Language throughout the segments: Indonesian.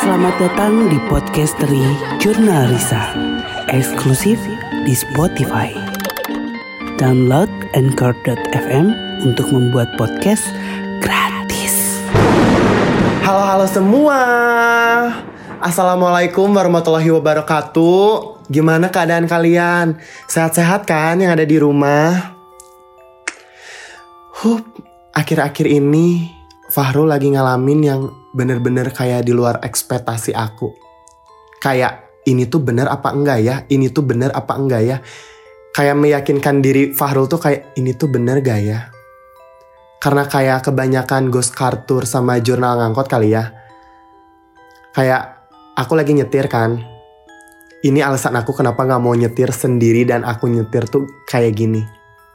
Selamat datang di Podcastery Jurnal Risa, eksklusif di Spotify. Download Anchor.fm untuk membuat podcast gratis. Halo semua. Assalamualaikum warahmatullahi wabarakatuh. Gimana keadaan kalian? Sehat-sehat kan yang ada di rumah? Akhir-akhir ini Fahrul lagi ngalamin yang bener-bener kayak di luar ekspektasi aku. Kayak ini tuh bener apa enggak ya? Ini tuh bener apa enggak ya? Kayak meyakinkan diri Fahrul tuh kayak ini tuh bener gak ya? Karena kayak kebanyakan ghost car tour sama jurnal ngangkot kali ya. Kayak aku lagi nyetir kan. Ini alasan aku kenapa gak mau nyetir sendiri dan aku nyetir tuh kayak gini.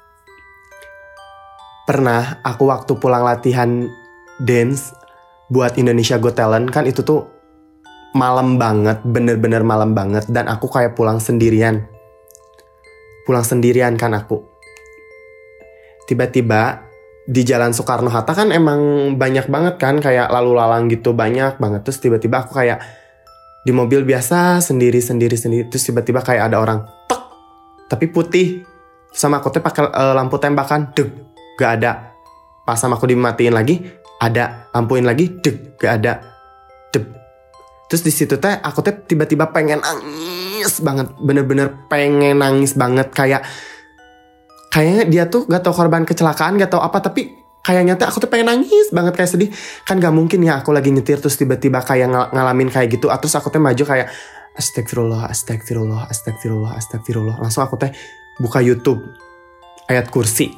Pernah aku waktu pulang latihan dance buat Indonesia Got Talent kan itu tuh malam banget, bener-bener malam banget. Dan aku kayak pulang sendirian kan aku. Tiba-tiba di Jalan Soekarno-Hatta kan emang banyak banget kan kayak lalu lalang gitu, banyak banget. Terus tiba-tiba aku kayak di mobil biasa sendiri. Terus tiba-tiba kayak ada orang tek, tapi putih. Sama aku tuh pakai lampu tembakan, deg, gak ada. Pas sama aku dimatiin lagi, ada, lampuin lagi, deg, gak ada, deg. Terus di situ teh aku teh tiba-tiba pengen nangis banget, bener-bener pengen nangis banget. Kayaknya dia tuh gak tau korban kecelakaan, gak tau apa, tapi kayaknya teh aku tuh pengen nangis banget, kayak sedih. Kan gak mungkin ya aku lagi nyetir terus tiba-tiba kayak ngalamin kayak gitu. Terus aku teh maju kayak astagfirullah. Langsung aku teh buka YouTube ayat kursi.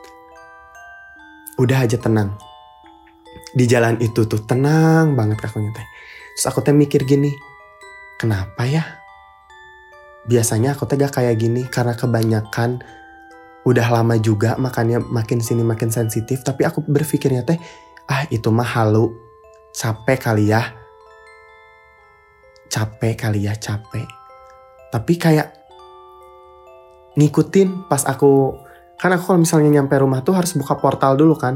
Udah aja tenang. Di jalan itu tuh tenang banget kakunya teh. Terus aku teh mikir gini, kenapa ya? Biasanya aku teh gak kayak gini karena kebanyakan udah lama juga makanya makin sini makin sensitif. Tapi aku berpikirnya teh, itu mah halu, capek kali ya. Tapi kayak ngikutin pas aku, kan aku kalau misalnya nyampe rumah tuh harus buka portal dulu kan.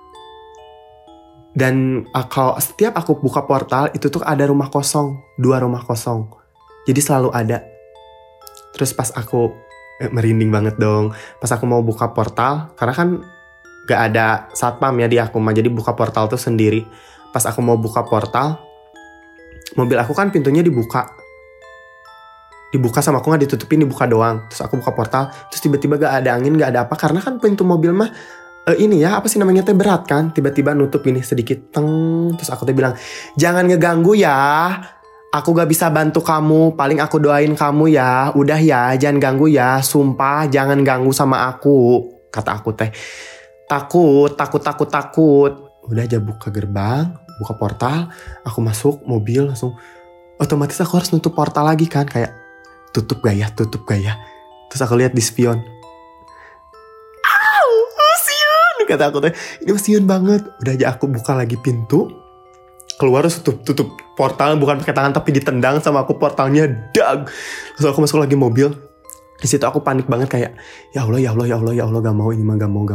Dan kalau setiap aku buka portal itu tuh ada rumah kosong, 2 rumah kosong. Jadi selalu ada. Terus pas aku merinding banget dong. Pas aku mau buka portal, karena kan gak ada satpam ya di aku mah. Jadi buka portal tuh sendiri. Pas aku mau buka portal, mobil aku kan pintunya dibuka sama aku gak ditutupin, dibuka doang. Terus aku buka portal, terus tiba-tiba gak ada angin, gak ada apa. Karena kan pintu mobil mah ini ya, apa sih namanya teh, berat kan. Tiba-tiba nutup ini sedikit, teng. Terus aku teh bilang, jangan ngeganggu ya, aku gak bisa bantu kamu, paling aku doain kamu ya. Udah ya, jangan ganggu ya, sumpah jangan ganggu sama aku, kata aku teh. Takut. Udah aja buka gerbang, buka portal, aku masuk mobil langsung. Otomatis aku harus nutup portal lagi kan, kayak tutup gak ya. Terus aku lihat di spion, kata aku teh, ini siun banget. Udah aja aku buka lagi pintu, keluar terus tutup portal, bukan pakai tangan tapi ditendang sama aku portalnya, dag. Terus aku masuk lagi mobil. Di situ aku panik banget kayak ya Allah, gak mau ini mah, gak mau.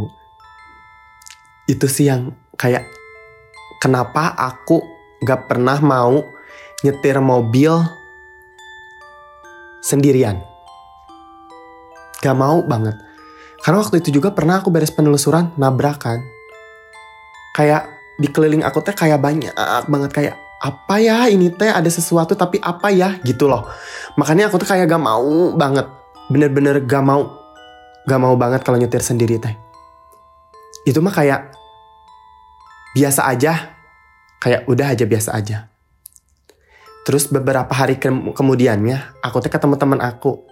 Itu sih yang kayak kenapa aku gak pernah mau nyetir mobil sendirian. Gak mau banget. Karena waktu itu juga pernah aku beres penelusuran, nabrakan. Kayak di keliling aku teh kayak banyak banget, kayak apa ya ini teh, ada sesuatu tapi apa ya gitu loh. Makanya aku tuh kayak gak mau banget. Bener-bener gak mau banget kalau nyetir sendiri teh. Itu mah kayak biasa aja. Kayak udah aja biasa aja. Terus beberapa hari kemudiannya aku teh ketemu teman aku.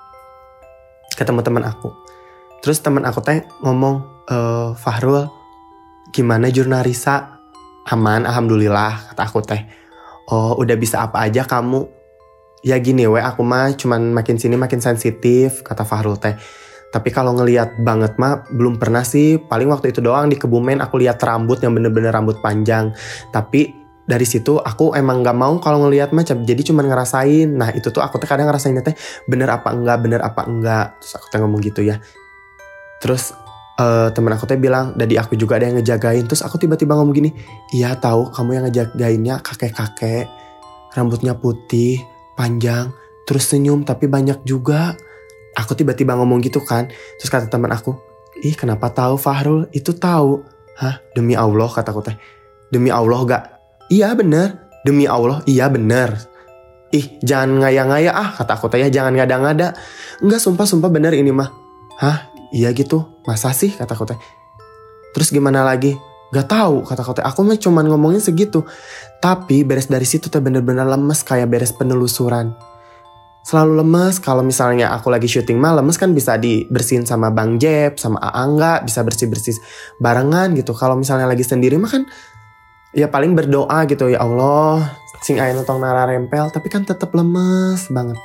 Terus teman aku teh ngomong, Fahrul, gimana jurnal Risa? Aman, alhamdulillah, kata aku teh. Oh, udah bisa apa aja kamu? Ya gini aku mah cuman makin sini makin sensitif, kata Fahrul teh. Tapi kalau ngelihat banget mah belum pernah sih. Paling waktu itu doang di Kebumen aku lihat rambut yang bener-bener rambut panjang. Tapi dari situ aku emang gak mau kalau ngelihat mah, jadi cuman ngerasain. Nah itu tuh aku teh kadang ngerasainnya teh bener apa enggak. Terus aku teh ngomong gitu ya. Terus Temen aku teh bilang, Dadi aku juga ada yang ngejagain. Terus aku tiba-tiba ngomong gini, iya tahu kamu yang ngejagainnya kakek-kakek, rambutnya putih, panjang, terus senyum tapi banyak juga. Aku tiba-tiba ngomong gitu kan. Terus kata teman aku, ih kenapa tahu Fahrul? Itu tahu. Hah? Demi Allah kata aku teh. Demi Allah gak? Iya bener. Demi Allah iya bener. Ih jangan ngaya-ngaya kata aku teh ya, jangan ngada-ngada. Enggak sumpah bener ini mah. Hah? Iya gitu, masa sih kata aku teh. Terus gimana lagi? Gak tahu kata aku teh. Aku mah cuman ngomongin segitu. Tapi beres dari situ teh bener-bener lemes kayak beres penelusuran. Selalu lemes. Kalau misalnya aku lagi syuting mah lemes kan bisa dibersihin sama Bang Jeb, sama Aangga, bisa bersih-bersih barengan gitu. Kalau misalnya lagi sendiri mah kan ya paling berdoa gitu, ya Allah sing aya tong nara rempel. Tapi kan tetap lemes banget.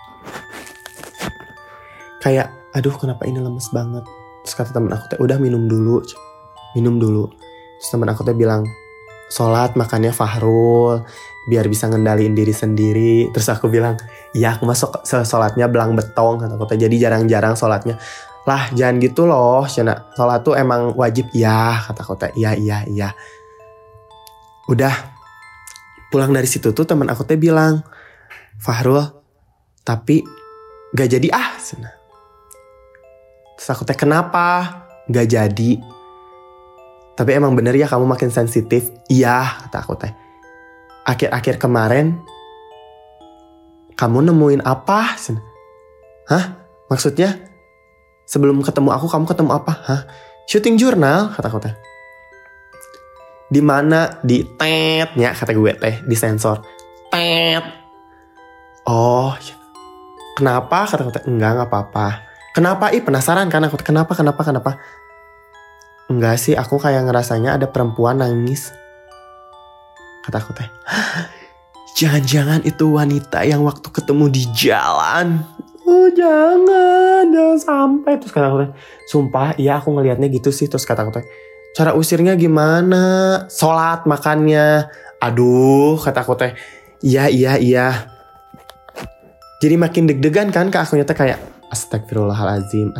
Kayak aduh kenapa ini lemes banget. Terus kata temen aku teh, udah minum dulu. Terus temen aku teh bilang, sholat makannya Fahrul, biar bisa ngendaliin diri sendiri. Terus aku bilang, iya aku masuk sholatnya belang betong kata aku teh. Jadi jarang-jarang sholatnya. Lah jangan gitu loh Cina, sholat tuh emang wajib. Iya kata aku teh, iya. Udah pulang dari situ tuh temen aku teh bilang, Fahrul tapi gak jadi Cina. Terus aku teh kenapa? Gak jadi. Tapi emang bener ya kamu makin sensitif. Iya kata aku teh. Akhir-akhir kemarin kamu nemuin apa? Hah? Maksudnya? Sebelum ketemu aku kamu ketemu apa? Hah? Shooting jurnal kata aku teh. Di mana? Di tetnya kata gue teh, di sensor. Tet. Oh. Kenapa? Kata aku teh. Enggak apa-apa. Kenapa? Penasaran kan aku. Kenapa? Enggak sih, aku kayak ngerasanya ada perempuan nangis. Kata aku teh. Jangan-jangan itu wanita yang waktu ketemu di jalan. Oh jangan sampai. Terus kata aku teh, sumpah iya aku ngelihatnya gitu sih. Terus kata aku teh, cara usirnya gimana? Sholat makannya. Aduh kata aku teh, iya. Jadi makin deg-degan kan ke akunya teh kayak, Astagfirullahaladzim.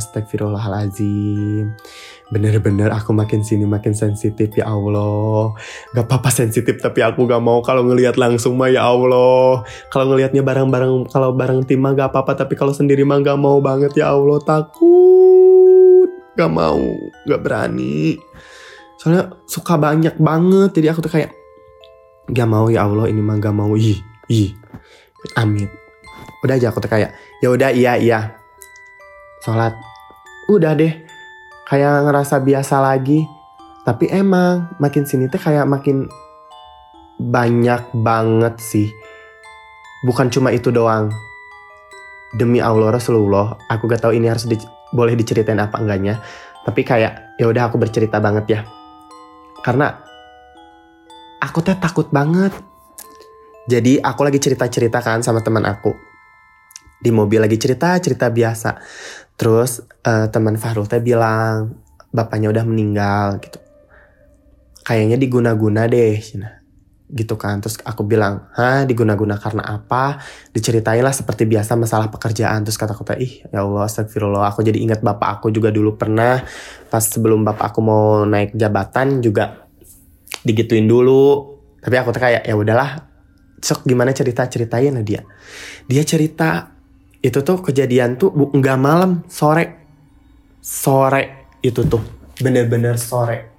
Bener-bener aku makin sini makin sensitif ya Allah. Gak apa-apa sensitif tapi aku gak mau kalau ngelihat langsung mah ya Allah. Kalau ngelihatnya bareng-bareng, kalau bareng tim mah gak apa-apa. Tapi kalau sendiri mah gak mau banget ya Allah. Takut. Gak mau. Gak berani. Soalnya suka banyak banget. Jadi aku tuh kayak, gak mau ya Allah ini mah gak mau. Ih. Amit. Udah aja aku tuh kayak, ya udah iya. Sholat. Udah deh. Kayak ngerasa biasa lagi. Tapi emang makin sini tuh kayak makin banyak banget sih. Bukan cuma itu doang. Demi Allah Rasulullah, aku gak tahu ini harus boleh diceritain apa enggaknya. Tapi kayak ya udah aku bercerita banget ya. Karena aku tuh takut banget. Jadi aku lagi cerita-cerita kan sama teman aku. Di mobil lagi cerita biasa. Terus teman Fahrul teh bilang bapaknya udah meninggal gitu. Kayaknya diguna-guna deh, gitu kan. Terus aku bilang, diguna-guna karena apa? Diceritain lah seperti biasa masalah pekerjaan. Terus kata aku teh, ya Allah astagfirullah. Aku jadi ingat bapak aku juga dulu pernah pas sebelum bapak aku mau naik jabatan juga digituin dulu. Tapi aku tuh kayak ya udahlah. Sok gimana ceritain lah dia. Dia cerita itu tuh kejadian tuh enggak malam, sore itu tuh bener-bener sore.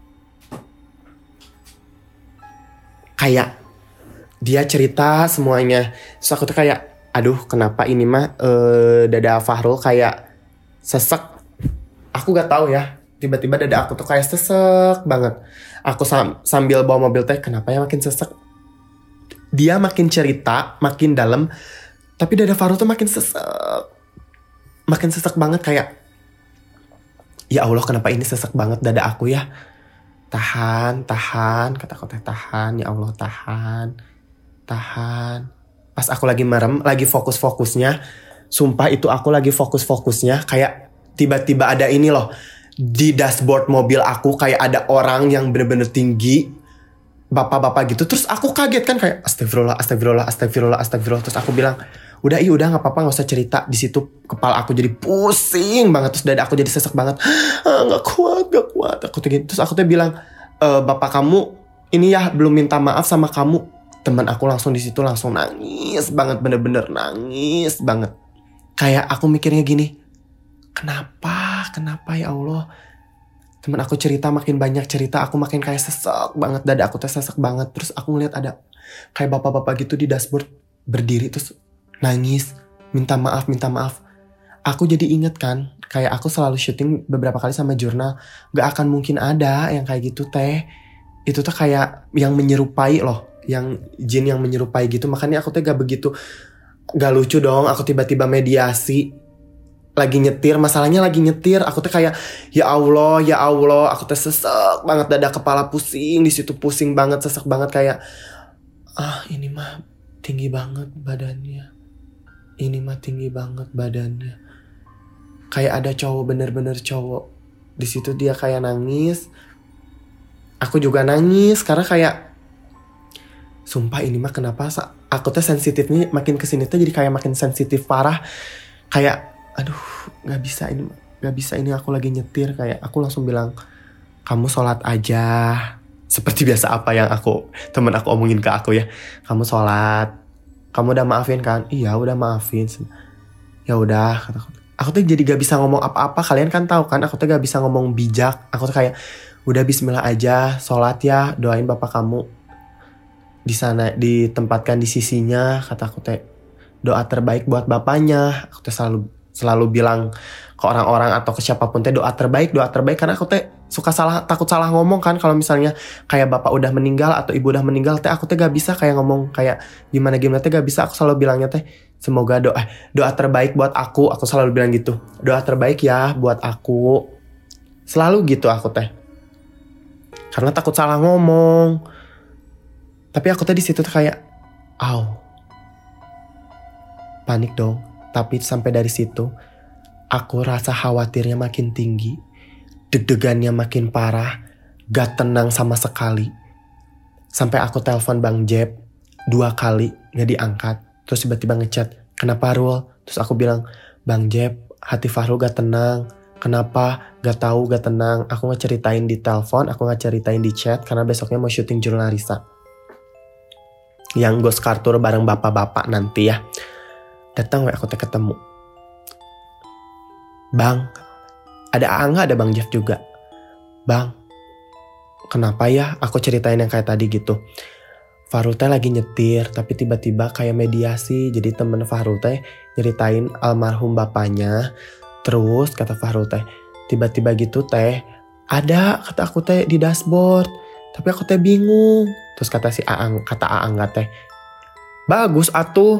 Kayak dia cerita semuanya. Terus aku tuh kayak, aduh kenapa ini mah dada Fahrul kayak sesek. Aku gak tahu ya. Tiba-tiba dada aku tuh kayak sesek banget. Aku sambil bawa mobil teh, kenapa ya makin sesek? Dia makin cerita, makin dalam. Tapi dada Fahrul tuh makin sesek. Makin sesek banget kayak, ya Allah kenapa ini sesek banget dada aku ya. Tahan. Kata aku teh tahan. Ya Allah tahan. Pas aku lagi merem, lagi fokus-fokusnya. Sumpah itu aku lagi fokus-fokusnya. Kayak tiba-tiba ada ini loh. Di dashboard mobil aku kayak ada orang yang bener-bener tinggi. bapak-bapak gitu. Terus aku kaget kan kayak astagfirullah. Terus aku bilang, udah gak apa-apa, gak usah cerita. Di situ kepala aku jadi pusing banget. Terus dada aku jadi sesek banget. Gak kuat. Terus aku tuh bilang, bapak kamu ini ya belum minta maaf sama kamu. Teman aku langsung di situ langsung nangis banget, bener-bener nangis banget. Kayak aku mikirnya gini, kenapa ya Allah? Temen aku cerita, makin banyak cerita, aku makin kayak sesek banget, dada aku tuh sesek banget. Terus aku ngeliat ada kayak bapak-bapak gitu di dashboard berdiri terus nangis, minta maaf. Aku jadi inget kan, kayak aku selalu syuting beberapa kali sama jurnal, gak akan mungkin ada yang kayak gitu teh. Itu tuh kayak yang menyerupai loh, yang jin yang menyerupai gitu. Makanya aku tuh gak lucu dong, aku tiba-tiba mediasi. Lagi nyetir, masalahnya lagi nyetir, aku tuh kayak ya Allah, aku tuh sesek banget, dada kepala pusing, di situ pusing banget, sesek banget kayak ini mah tinggi banget badannya. Kayak ada cowok, bener-bener cowok. Di situ dia kayak nangis. Aku juga nangis karena kayak sumpah ini mah kenapa aku tuh sensitifnya makin kesini tuh jadi kayak makin sensitif parah. Kayak aduh, gak bisa ini aku lagi nyetir. Kayak aku langsung bilang, kamu sholat aja. Seperti biasa apa yang temen aku omongin ke aku ya. Kamu sholat. Kamu udah maafin kan? Iya udah maafin. Ya udah, kata aku tuh jadi gak bisa ngomong apa-apa. Kalian kan tahu kan, aku tuh gak bisa ngomong bijak. Aku tuh kayak udah bismillah aja, sholat ya, doain bapak kamu di sana, ditempatkan di sisinya. Kata aku teh, doa terbaik buat bapaknya. Aku tuh selalu bilang ke orang-orang atau ke siapapun teh doa terbaik karena aku teh suka takut salah ngomong kan. Kalau misalnya kayak bapak udah meninggal atau ibu udah meninggal teh, aku teh gak bisa kayak ngomong kayak gimana teh gak bisa. Aku selalu bilangnya teh semoga doa terbaik buat aku selalu bilang gitu, doa terbaik ya buat aku, selalu gitu aku teh karena takut salah ngomong. Tapi aku teh di situ tuh kayak panik dong. Tapi sampai dari situ, aku rasa khawatirnya makin tinggi, deg-degannya makin parah, gak tenang sama sekali. Sampai aku telepon Bang Jeb 2 kali, gak diangkat. Terus tiba-tiba ngechat, kenapa Rul? Terus aku bilang, Bang Jeb, hati Fahrul gak tenang. Kenapa? Gak tahu, gak tenang. Aku gak ceritain di telepon, aku gak ceritain di chat, karena besoknya mau syuting Jurnal Risa. Yang Ghost Car Tour bareng bapak-bapak nanti ya. Datang aku teh ketemu. Bang, ada Angga, ada Bang Jeff juga. Bang, kenapa ya aku ceritain yang kayak tadi gitu. Fahrul teh lagi nyetir, tapi tiba-tiba kayak mediasi. Jadi temen Fahrul teh nyeritain almarhum bapaknya. Terus kata Fahrul teh, tiba-tiba gitu teh, ada kata aku teh di dashboard. Tapi aku teh bingung. Terus kata Angga teh, bagus atuh.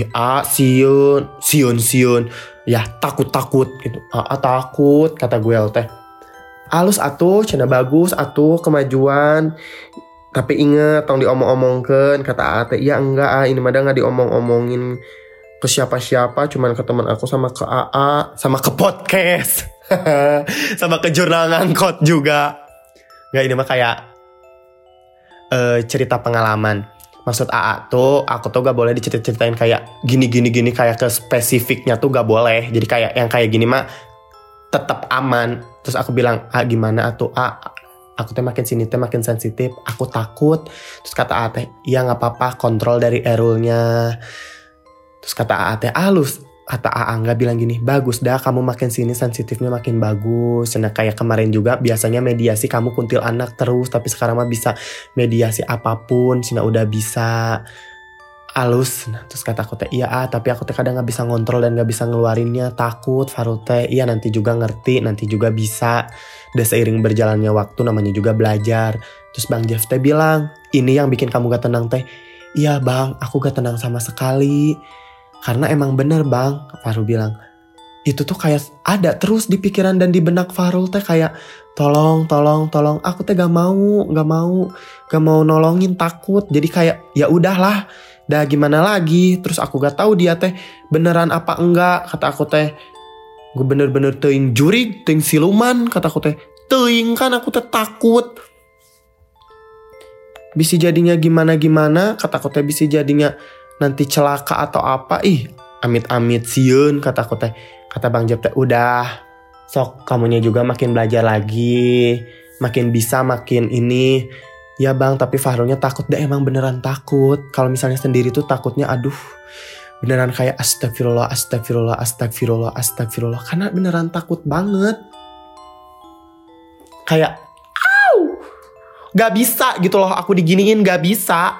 Siun. Ya takut gitu. Takut kata gue teh. Alus atuh, cenah bagus atuh kemajuan. Tapi inget tong diomong-omongkeun kata Ate. Ya enggak, ini mah enggak diomong-omongin ke siapa-siapa, cuman ke teman aku sama ke AA, sama ke podcast. Sama ke jurnal ngangkot juga. Enggak, ini mah kayak cerita pengalaman. Maksud AA tuh, aku tuh gak boleh diceritain kayak gini kayak ke spesifiknya tuh gak boleh. Jadi kayak yang kayak gini mah tetap aman. Terus aku bilang, gimana tuh aku teh makin sini teh makin sensitif, aku takut. Terus kata AA teh, iya gak apa-apa, kontrol dari erulnya. Terus kata AA teh, kata AA nggak bilang gini, bagus dah kamu makin sini sensitifnya makin bagus. Nah kayak kemarin juga biasanya mediasi kamu kuntil anak terus, tapi sekarang mah bisa mediasi apapun, Cina udah bisa. Alus. Nah terus kata aku teh, iya tapi aku teh kadang nggak bisa ngontrol dan nggak bisa ngeluarinnya, takut. Fahrul teh, iya nanti juga ngerti, nanti juga bisa. Udah seiring berjalannya waktu, namanya juga belajar. Terus Bang Jeff teh bilang, ini yang bikin kamu gak tenang teh. Iya bang, aku gak tenang sama sekali. Karena emang bener bang, Fahrul bilang, itu tuh kayak ada terus di pikiran dan di benak Fahrul teh kayak tolong. Aku teh gak mau nolongin, takut. Jadi kayak ya udahlah, dah gimana lagi. Terus aku gak tahu dia teh beneran apa enggak. Kata aku teh, gue bener-bener teuing jurig, teuing siluman. Kata aku teh, teuing kan aku teh takut. bisa jadinya gimana-gimana, kata aku teh bisa jadinya nanti celaka atau apa. Amit-amit sieun, kata aku teh. Kata Bang Jep teh, udah sok kamunya juga makin belajar lagi, makin bisa, makin ini. Ya Bang, tapi Fahrulnya takut deh, emang beneran takut. Kalau misalnya sendiri tuh takutnya aduh, beneran kayak astagfirullah, astagfirullah, astagfirullah, astagfirullah. Karena beneran takut banget. Kayak, gak bisa gitu loh aku diginiin, gak bisa.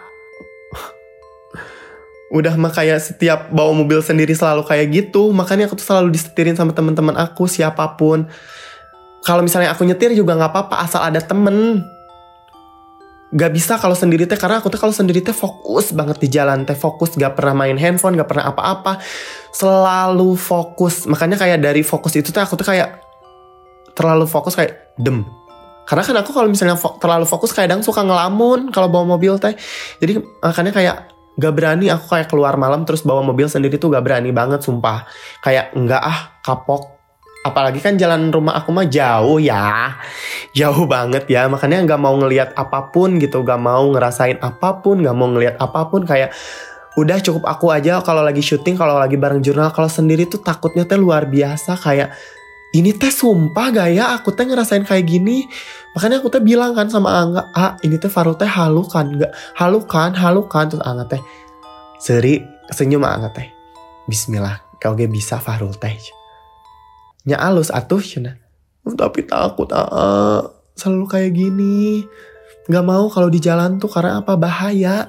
Udah mah kayak setiap bawa mobil sendiri selalu kayak gitu. Makanya aku tuh selalu disetirin sama teman-teman aku, siapapun. Kalau misalnya aku nyetir juga gak apa-apa, asal ada temen. Gak bisa kalau sendiri teh, karena aku tuh kalau sendiri teh fokus banget di jalan teh, fokus, gak pernah main handphone, gak pernah apa-apa, selalu fokus. Makanya kayak dari fokus itu teh aku tuh kayak terlalu fokus, kayak karena kan aku kalau misalnya terlalu fokus kadang suka ngelamun kalau bawa mobil teh. Jadi makanya kayak gak berani aku kayak keluar malam terus bawa mobil sendiri tuh, gak berani banget sumpah. Kayak enggak kapok. Apalagi kan jalan rumah aku mah jauh ya. Jauh banget ya. Makanya gak mau ngelihat apapun gitu. Gak mau ngerasain apapun. Gak mau ngelihat apapun. Kayak udah cukup aku aja kalau lagi syuting. Kalau lagi bareng jurnal. Kalau sendiri tuh takutnya teh luar biasa. Kayak ini teh sumpah gak ya aku teh ngerasain kayak gini. Makanya aku teh bilang kan sama Angga. Ini teh Fahrul teh halu kan. Gak halu kan. Terus Angga teh seri senyum Angga teh. Bismillah. Kau gak bisa Fahrul teh. Nya alus atuh cina. Tapi takut selalu kayak gini. Gak mau kalau di jalan tuh karena apa, bahaya.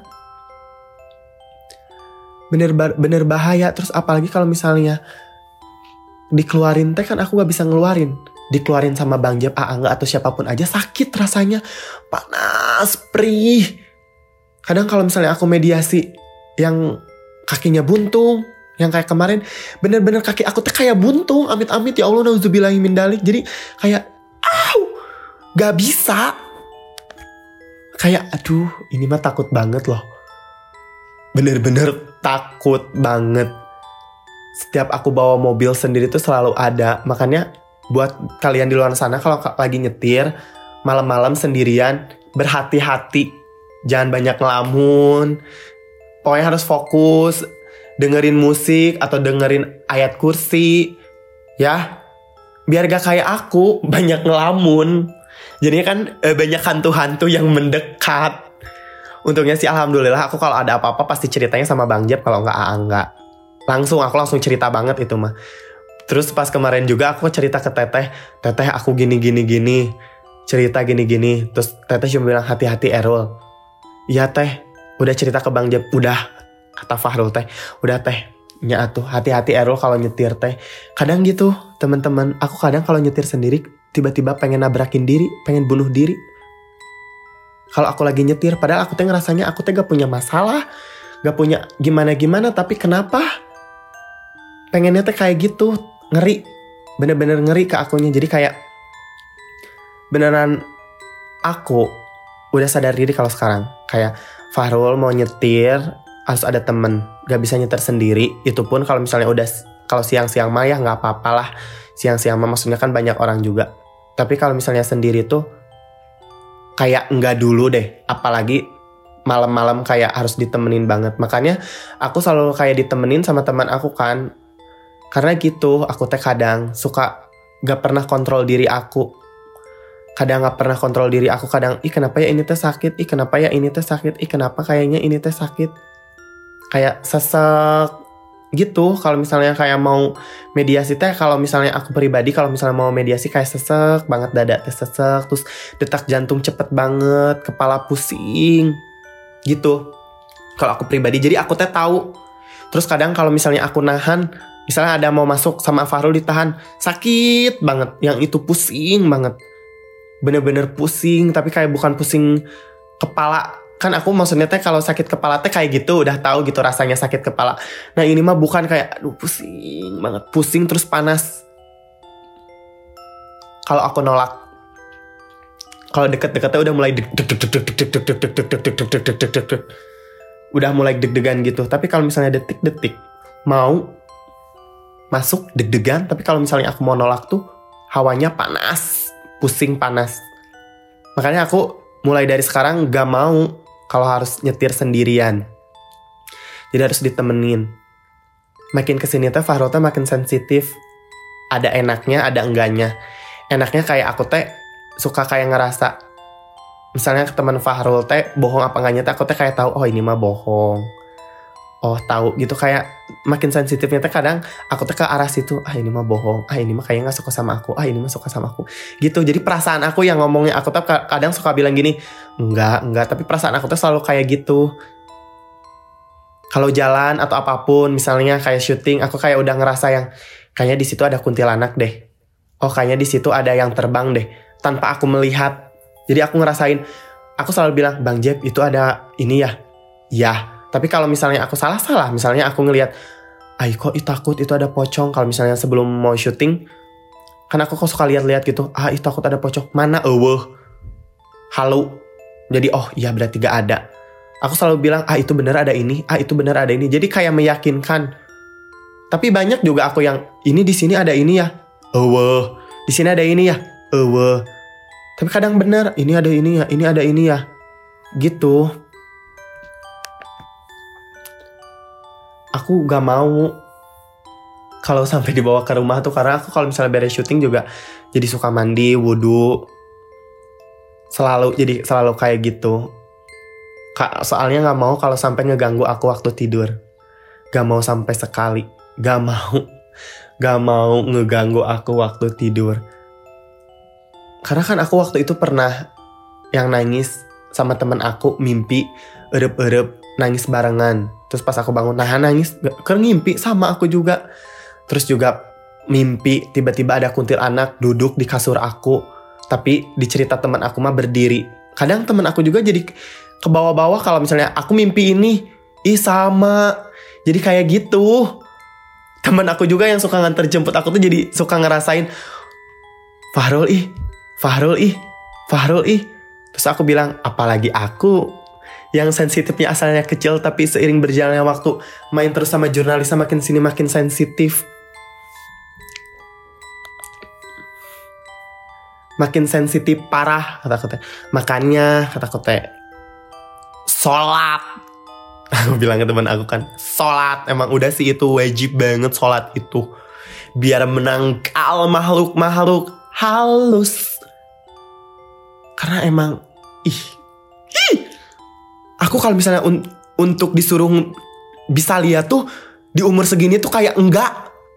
Bener bahaya. Terus apalagi kalau misalnya dikeluarin teh kan aku gak bisa ngeluarin. Dikeluarin sama Bang Jep, Angga atau siapapun aja sakit rasanya. Panas, perih. Kadang kalau misalnya aku mediasi yang kakinya buntung, yang kayak kemarin, bener-bener kaki aku tuh kayak buntung, amit-amit ya Allah, nauzubillahi min dzalik. Jadi kayak, gak bisa. Kayak, aduh, ini mah takut banget loh. Bener-bener takut banget. Setiap aku bawa mobil sendiri tuh selalu ada. Makanya buat kalian di luar sana kalau lagi nyetir, malam-malam sendirian, berhati-hati. Jangan banyak ngelamun. Pokoknya harus fokus. Dengerin musik atau dengerin ayat kursi ya, biar gak kayak aku banyak ngelamun. Jadinya kan banyak hantu-hantu yang mendekat. Untungnya sih alhamdulillah aku kalau ada apa-apa pasti ceritanya sama Bang Jep. Kalau enggak aku langsung cerita banget itu mah. Terus pas kemarin juga aku cerita ke Teteh aku gini cerita gini. Terus Teteh cuma bilang hati-hati Errol. Iya Teh, udah cerita ke Bang Jep. Udah, kata Fahrul teh, udah teh, nya atuh hati-hati Errol kalau nyetir teh. Kadang gitu teman-teman, aku kadang kalau nyetir sendiri tiba-tiba pengen nabrakin diri, pengen bunuh diri. Kalau aku lagi nyetir, padahal aku teh ngerasanya aku teh gak punya masalah, gak punya gimana-gimana, tapi kenapa pengennya teh kayak gitu, ngeri, bener-bener ngeri ke akunya. Jadi kayak beneran aku udah sadar diri kalau sekarang kayak Fahrul mau nyetir harus ada temen, gak bisa nyetir sendiri. Itu pun kalau misalnya udah, kalau siang-siang mah ya gak apa-apa lah. Siang-siang mah maksudnya kan banyak orang juga. Tapi kalau misalnya sendiri tuh kayak enggak dulu deh. Apalagi malam-malam kayak harus ditemenin banget. Makanya aku selalu kayak ditemenin sama teman aku kan. Karena gitu aku teh kadang suka gak pernah kontrol diri aku. Kadang gak pernah kontrol diri aku. Kadang kenapa ya ini teh sakit, kenapa ya ini teh sakit, kenapa kayaknya ini teh sakit. Kayak sesek gitu. Kalau misalnya kayak mau mediasi teh, kalau misalnya aku pribadi kalau misalnya mau mediasi kayak sesek banget, dada teh sesek, terus detak jantung cepet banget, kepala pusing gitu kalau aku pribadi. Jadi aku teh tahu. Terus kadang kalau misalnya aku nahan, misalnya ada mau masuk sama Fahrul ditahan, sakit banget, yang itu pusing banget, bener-bener pusing. Tapi kayak bukan pusing kepala. Kan aku maksudnya teh kalau sakit kepala teh kayak gitu, udah tahu gitu rasanya sakit kepala. Nah ini mah bukan, kayak aduh pusing banget, pusing terus panas. Kalau aku nolak, kalau deket-deketnya udah mulai udah mulai deg-degan gitu. Tapi kalau misalnya detik-detik mau masuk deg-degan. Tapi kalau misalnya aku mau nolak tuh hawanya panas, pusing panas. Makanya aku mulai dari sekarang gak mau kalau harus nyetir sendirian. Jadi harus ditemenin. Makin kesini teh Fahrul teh makin sensitif. Ada enaknya, ada enggaknya. Enaknya kayak aku teh suka kayak ngerasa, misalnya teman Fahrul teh bohong apa enggaknya teh aku teh kayak tahu, oh ini mah bohong. Oh tahu gitu, kayak makin sensitifnya teh kadang aku teh ke arah situ, ini mah bohong, ini mah kayaknya nggak suka sama aku, ini mah suka sama aku. Gitu. Jadi perasaan aku yang ngomongnya aku teh kadang suka bilang gini, enggak, tapi perasaan aku teh selalu kayak gitu. Kalau jalan atau apapun, misalnya kayak syuting, aku kayak udah ngerasa yang kayaknya di situ ada kuntilanak deh. Oh kayaknya di situ ada yang terbang deh, tanpa aku melihat. Jadi aku ngerasain, aku selalu bilang, Bang Jeb itu ada ini ya. Ya, tapi kalau misalnya aku salah, misalnya aku ngelihat, kok takut itu ada pocong. Kalau misalnya sebelum mau syuting, kan aku kok suka lihat-lihat gitu, itu takut ada pocong. Mana halu. Jadi oh iya berarti gak ada. Aku selalu bilang, itu benar ada ini, itu benar ada ini. Jadi kayak meyakinkan. Tapi banyak juga aku yang, ini di sini ada ini ya. Di sini ada ini ya. Tapi kadang benar, ini ada ini ya, ini ada ini ya. Gitu. Aku gak mau kalau sampai dibawa ke rumah tuh, karena aku kalau misalnya beres syuting juga jadi suka mandi, wudhu. Selalu kayak gitu. Soalnya gak mau kalau sampai ngeganggu aku waktu tidur. Gak mau sampai sekali. Gak mau ngeganggu aku waktu tidur. Karena kan aku waktu itu pernah yang nangis sama temen aku, mimpi erep-erep nangis barengan. Terus pas aku bangun nangis, ngimpi sama aku juga. Terus juga mimpi tiba-tiba ada kuntilanak duduk di kasur aku. Tapi di cerita temen aku mah berdiri. Kadang temen aku juga jadi ke bawah-bawah kalau misalnya aku mimpi ini. Sama. Jadi kayak gitu. Temen aku juga yang suka nganter jemput aku tuh jadi suka ngerasain, Fahrul ih. Terus aku bilang, apalagi aku yang sensitifnya asalnya kecil, tapi seiring berjalannya waktu main terus sama jurnalis makin sini makin sensitif. Makin sensitif parah kata-kata. Makanya kata-kata sholat. Aku bilang ke teman aku kan, sholat emang udah sih itu wajib banget sholat itu. Biar menangkal makhluk-makhluk halus. Karena emang aku kalau misalnya untuk disuruh bisa lihat tuh di umur segini tuh kayak enggak.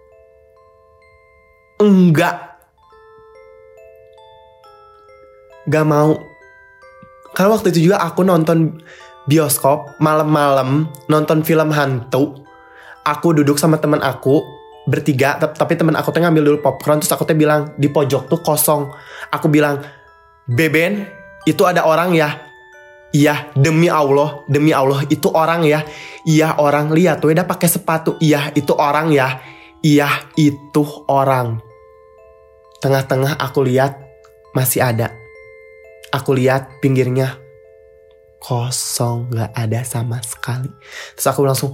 Gak mau. Karena waktu itu juga aku nonton bioskop malam-malam, nonton film hantu. Aku duduk sama teman aku bertiga, tapi teman aku tuh ngambil dulu popcorn. Terus aku tuh bilang di pojok tuh kosong. Aku bilang, Beben, itu ada orang ya? Iya, demi Allah itu orang ya. Iya orang, lihat tuh udah pakai sepatu. Iya itu orang ya. Iya itu orang. Tengah-tengah aku lihat masih ada. Aku lihat pinggirnya kosong, gak ada sama sekali. Terus aku langsung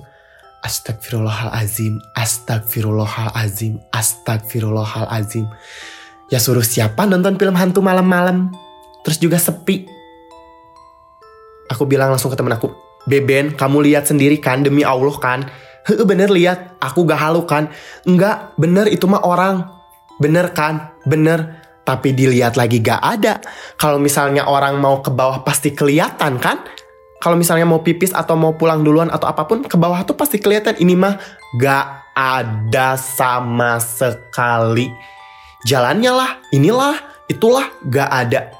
Astagfirullahalazim. Ya suruh siapa nonton film hantu malam-malam? Terus juga sepi. Aku bilang langsung ke temen aku, Beben, kamu lihat sendiri kan, demi Allah kan? Bener lihat, aku gak halu kan? Enggak, bener itu mah orang. Bener kan? Bener. Tapi dilihat lagi gak ada. Kalau misalnya orang mau ke bawah pasti kelihatan kan? Kalau misalnya mau pipis atau mau pulang duluan atau apapun, ke bawah tuh pasti kelihatan. Ini mah gak ada sama sekali. Jalannya lah, inilah, itulah, gak ada.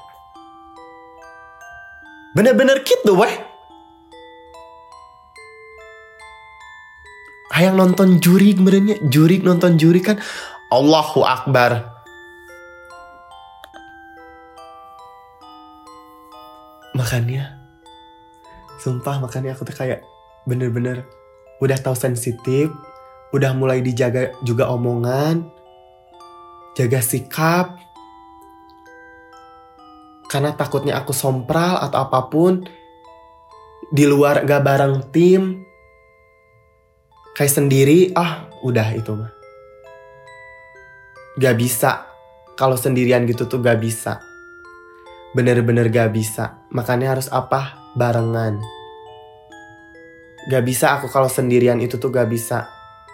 Bener-bener gitu weh. Hayang nonton jurig benernya. Nonton jurig kan. Allahu Akbar. Makanya aku tuh kayak bener-bener udah tahu sensitif, udah mulai dijaga juga omongan, jaga sikap, karena takutnya aku sompral atau apapun di luar gak bareng tim, kayak sendiri, udah itu mah gak bisa. Kalau sendirian gitu tuh gak bisa. Bener-bener gak bisa. Makanya harus apa? barengan. Gak bisa aku kalau sendirian itu tuh gak bisa.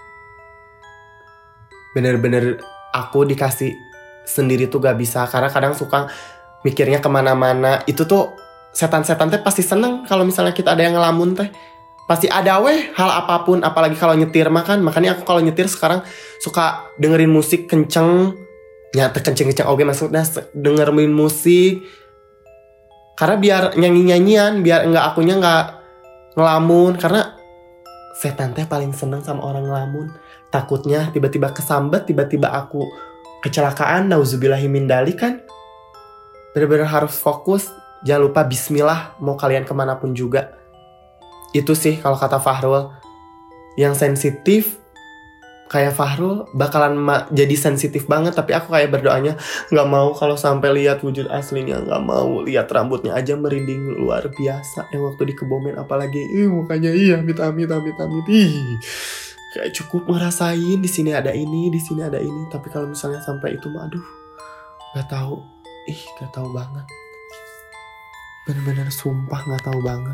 Bener-bener aku dikasih sendiri tuh gak bisa. Karena kadang suka mikirnya kemana-mana. Itu tuh setan-setan teh pasti seneng kalau misalnya kita ada yang ngelamun teh. Pasti ada hal apapun. Apalagi kalau nyetir makan. Makanya aku kalau nyetir sekarang suka dengerin musik kenceng. Nyata kenceng-kenceng oke maksudnya dengerin musik. Karena biar nyanyi-nyanyian. Biar akunya gak ngelamun. Karena setan teh paling seneng sama orang ngelamun. Takutnya tiba-tiba kesambet, tiba-tiba aku kecelakaan, nauzubillahimin dzalik kan. Bener-bener harus fokus. Jangan lupa bismillah mau kalian kemanapun juga. Itu sih kalau kata Fahrul. Yang sensitif kayak Fahrul bakalan jadi sensitif banget. Tapi aku kayak berdoanya gak mau kalau sampai lihat wujud aslinya. Gak mau lihat rambutnya aja merinding luar biasa. Yang waktu di Kebomen apalagi mukanya amit-amit. Kayak cukup ngerasain di sini ada ini, di sini ada ini. Tapi kalau misalnya sampai itu mah aduh gak tahu. Gak tahu banget. Bener-bener sumpah gak tahu banget.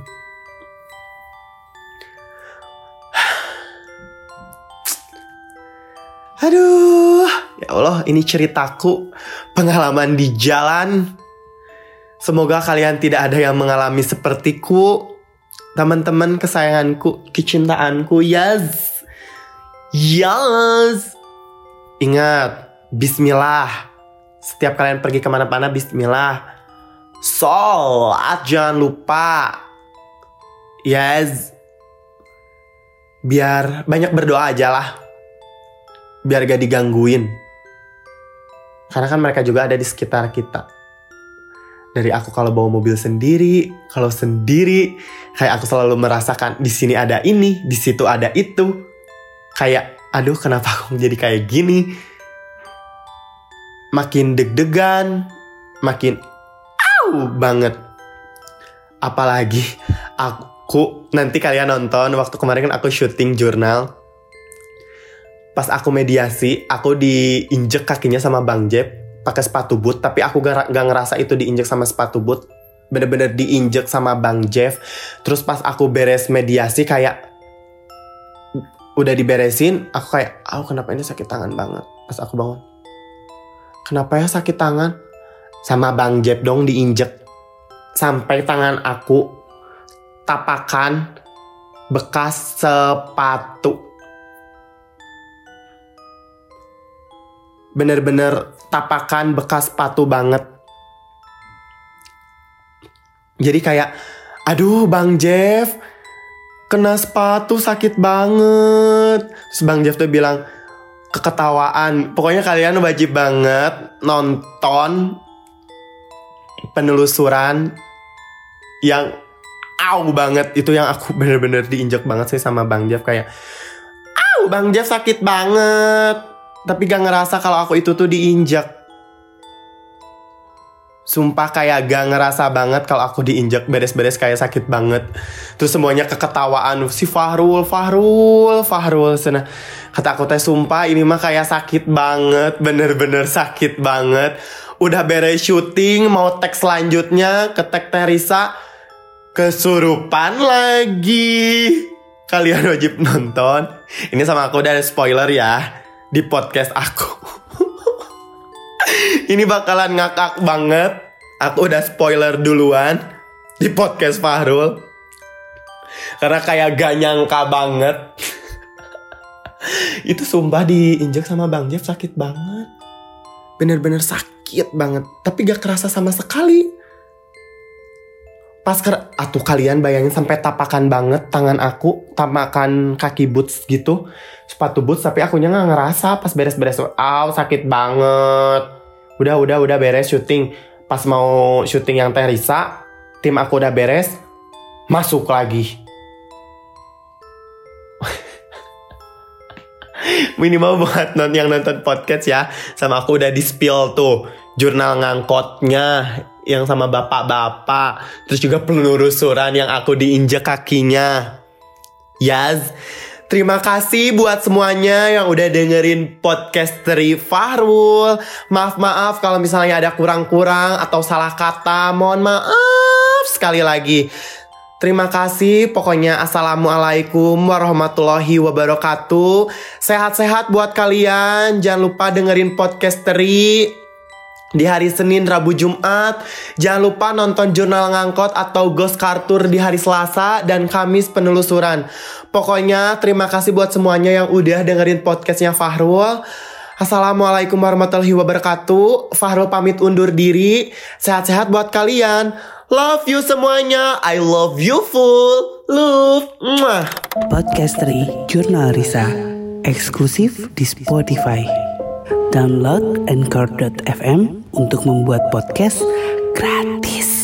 Aduh, ya Allah, ini ceritaku, pengalaman di jalan. Semoga kalian tidak ada yang mengalami sepertiku. Teman-teman kesayanganku, kecintaanku, yes. Ingat, bismillah. Setiap kalian pergi kemana-mana, bismillah. Sholat jangan lupa. Yes. Biar banyak berdoa aja lah. Biar gak digangguin. Karena kan mereka juga ada di sekitar kita. Dari aku kalau bawa mobil sendiri, kalau sendiri, kayak aku selalu merasakan di sini ada ini, di situ ada itu. Kayak, aduh kenapa aku jadi kayak gini? Makin deg-degan, makin banget. Apalagi aku, nanti kalian nonton, waktu kemarin kan aku syuting jurnal. Pas aku mediasi, aku diinjek kakinya sama Bang Jeb pakai sepatu boot, tapi aku gak ngerasa itu diinjek sama sepatu boot. Bener-bener diinjek sama Bang Jeff. Terus pas aku beres mediasi kayak udah diberesin, aku kayak, kenapa ini sakit tangan banget. Pas aku bangun, kenapa ya sakit tangan? Sama Bang Jeff dong diinjek. Sampai tangan aku tapakan bekas sepatu. Bener-bener tapakan bekas sepatu banget. Jadi kayak, aduh Bang Jeff, kena sepatu sakit banget. Terus Bang Jeff tuh bilang, keketawaan. Pokoknya kalian wajib banget nonton penelusuran yang banget. Itu yang aku bener-bener diinjek banget sih sama Bang Jeff. Kayak, Bang Jeff sakit banget. Tapi gak ngerasa kalau aku itu tuh diinjak. Sumpah kayak gak ngerasa banget kalau aku diinjak, beres-beres kayak sakit banget. Terus semuanya keketawaan. Si Fahrul. Sana. Kata aku teh sumpah ini mah kayak sakit banget. Bener-bener sakit banget. Udah beres syuting, mau tag selanjutnya ke tag Teresa. Kesurupan lagi. Kalian wajib nonton. Ini sama aku udah ada spoiler ya di podcast aku. Ini bakalan ngakak banget. Aku udah spoiler duluan di podcast Fahrul. Karena kayak gak nyangka banget. Itu sumpah diinjek sama Bang Jeff sakit banget. Bener-bener sakit banget. Tapi gak kerasa sama sekali. Pas kalian bayangin sampai tapakan banget tangan aku, tapakan kaki boots gitu, sepatu boots, tapi akunya nggak ngerasa pas beres-beres. Sakit banget. Udah beres syuting. Pas mau syuting yang Teresa, tim aku udah beres, masuk lagi. Minimal buat yang nonton podcast ya, sama aku udah di spill tuh jurnal ngangkotnya yang sama bapak-bapak. Terus juga penelusuran yang aku diinjek kakinya. Yes. Terima kasih buat semuanya yang udah dengerin podcast dari Fahrul. Maaf kalau misalnya ada kurang-kurang atau salah kata. Mohon maaf sekali lagi. Terima kasih, pokoknya assalamualaikum warahmatullahi wabarakatuh. Sehat-sehat buat kalian. Jangan lupa dengerin podcast Teri di hari Senin, Rabu, Jumat. Jangan lupa nonton Jurnal Ngangkot atau Ghost Kartur di hari Selasa dan Kamis penelusuran. Pokoknya terima kasih buat semuanya yang udah dengerin podcastnya Fahrul. Assalamualaikum warahmatullahi wabarakatuh. Fahrul pamit undur diri. Sehat-sehat buat kalian. Love you semuanya. I love you full. Love. Mwah. Podcast Teri Jurnal Risa eksklusif di Spotify. Download Anchor.fm untuk membuat podcast gratis.